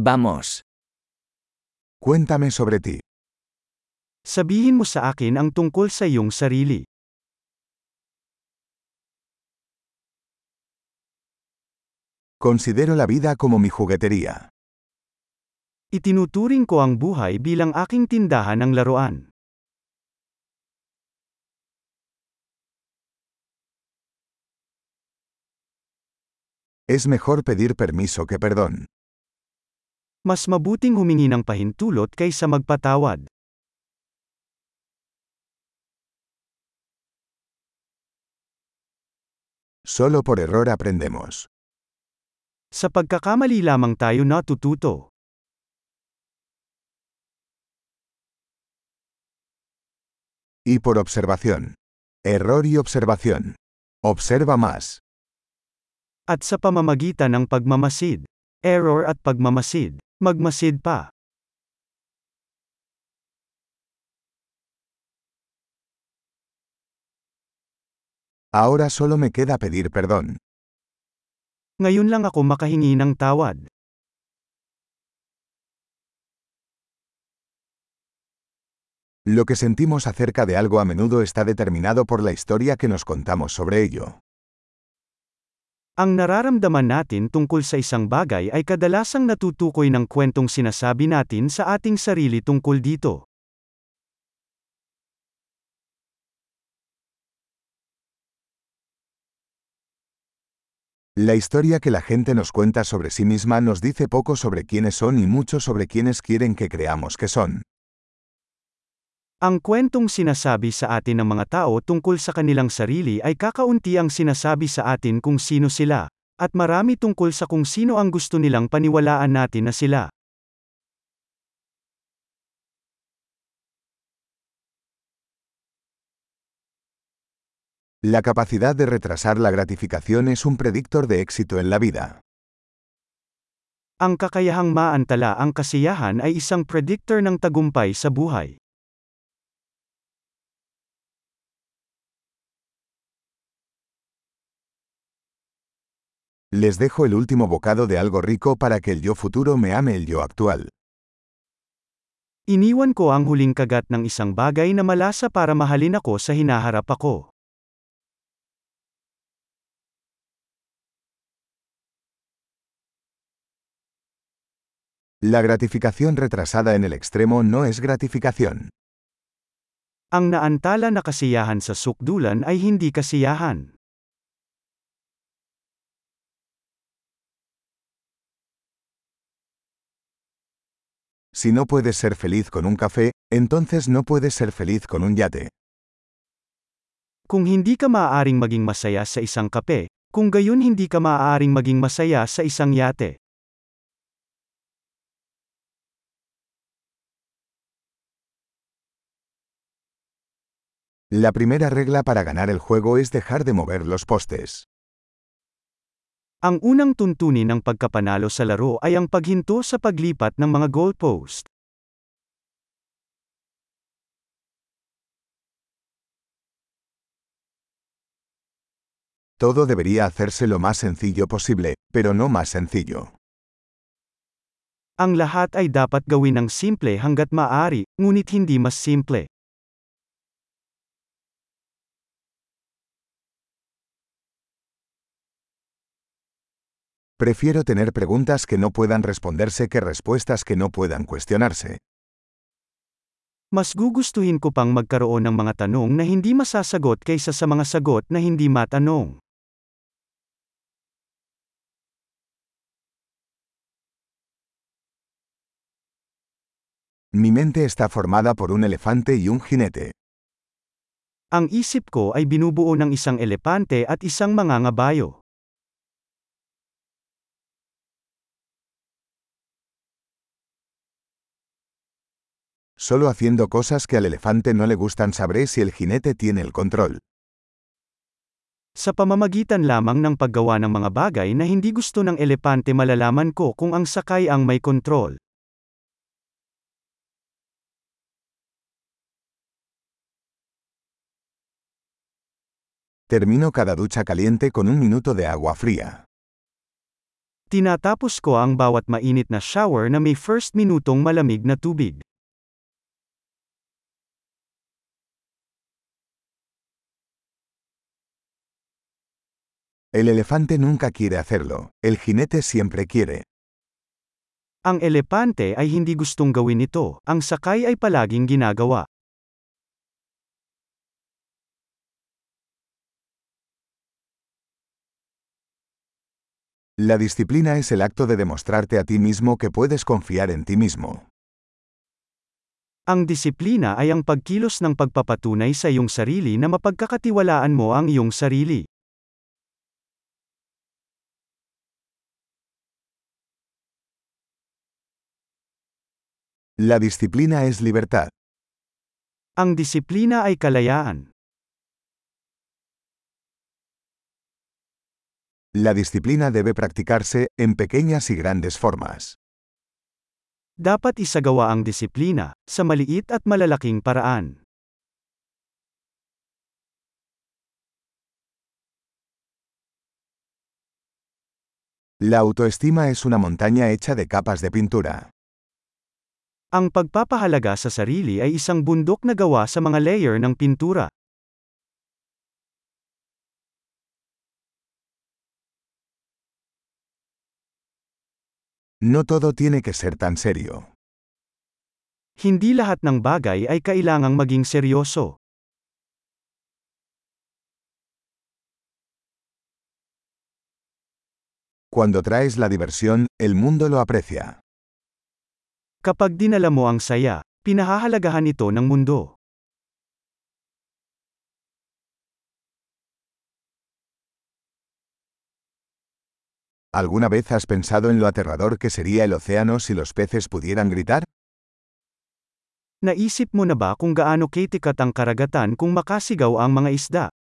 Vamos. Cuéntame sobre ti. Sabihin mo sa akin ang tungkol sa iyong sarili. Considero la vida como mi juguetería. Itinuturing ko ang buhay bilang aking tindahan ng laruan. Es mejor pedir permiso que perdón. Mas mabuting humingi ng pahintulot kaysa magpatawad. Solo por error aprendemos. Sa pagkakamali lamang tayo natututo. Y por observación. Error y observación. Observa más. At sa pamamagitan ng pagmamasid. Error at pagmamasid. Magmasid pa. Ahora solo me queda pedir perdón. Ngayon lang ako makahingi ng tawad. Lo que sentimos acerca de algo a menudo está determinado por la historia que nos contamos sobre ello. Ang nararamdaman natin tungkol sa isang bagay ay kadalasang natutukoy ng kwentong sinasabi natin sa ating sarili tungkol dito. La historia que la gente nos cuenta sobre sí misma nos dice poco sobre quiénes son y mucho sobre quiénes quieren que creamos que son. Ang kwentong sinasabi sa atin ng mga tao tungkol sa kanilang sarili ay kakaunti ang sinasabi sa atin kung sino sila, at marami tungkol sa kung sino ang gusto nilang paniwalaan natin na sila. La capacidad de retrasar la gratificación es un predictor de éxito en la vida. Ang kakayahang maantala ang kasiyahan ay isang predictor ng tagumpay sa buhay. Les dejo el último bocado de algo rico para que el yo futuro me ame el yo actual. Iniwan ko ang huling kagat ng isang bagay na malasa para mahalin ako sa hinaharap ako. La gratificación retrasada en el extremo no es gratificación. Ang naantala na kasiyahan sa sukdulan ay hindi kasiyahan. Si no puedes ser feliz con un café, entonces no puedes ser feliz con un yate. Kung hindi ka maaaring maging masaya sa isang kape, kung gayon hindi ka maaaring maging masaya sa isang yate. La primera regla para ganar el juego es dejar de mover los postes. Ang unang tuntunin ng pagkapanalo sa laro ay ang paghinto sa paglipat ng mga goalpost. Todo debería hacerse lo más sencillo posible, pero no más sencillo. Ang lahat ay dapat gawin ng simple hanggat maaari, ngunit hindi mas simple. Prefiero tener preguntas que no puedan responderse que respuestas que no puedan cuestionarse. Mas gugustuhin ko pang magkaroon ng mga tanong na hindi masasagot kaysa sa mga sagot na hindi matanong. Mi mente está formada por un elefante y un jinete. Ang isip ko ay binubuo ng isang elepante at isang mangangabayo. Solo haciendo cosas que al elefante no le gustan sabré si el jinete tiene el control. Sa pamamagitan lamang ng paggawa ng mga bagay na hindi gusto ng elepante malalaman ko kung ang sakay ang may kontrol. Termino cada ducha caliente con un minuto de agua fría. Tinatapos ko ang bawat mainit na shower na may first minutong malamig na tubig. El elefante nunca quiere hacerlo, el jinete siempre quiere. Ang elepante ay hindi gustong gawin ito, ang sakay ay palaging ginagawa. La disciplina es el acto de demostrarte a ti mismo que puedes confiar en ti mismo. Ang disiplina ay ang pagkilos ng pagpapatunay sa iyong sarili na mapagkakatiwalaan mo ang iyong sarili. La disciplina es libertad. Ang disiplina ay kalayaan. La disciplina debe practicarse, en pequeñas y grandes formas. Dapat isagawa ang disiplina, sa maliit at malalaking paraan. La autoestima es una montaña hecha de capas de pintura. Ang pagpapahalaga sa sarili ay isang bundok na gawa sa mga layer ng pintura. No todo tiene que ser tan serio. Hindi lahat ng bagay ay kailangang maging seryoso. Cuando traes la diversión, el mundo lo aprecia. Kapag dinala mo ang saya, pinahahalagahan ito ng mundo. ¿Alguna vez has pensado en lo aterrador que sería el océano si los peces pudieran gritar? Naisip mo na ba kung gaano katikat ang karagatan kung makasigaw ang mga isda?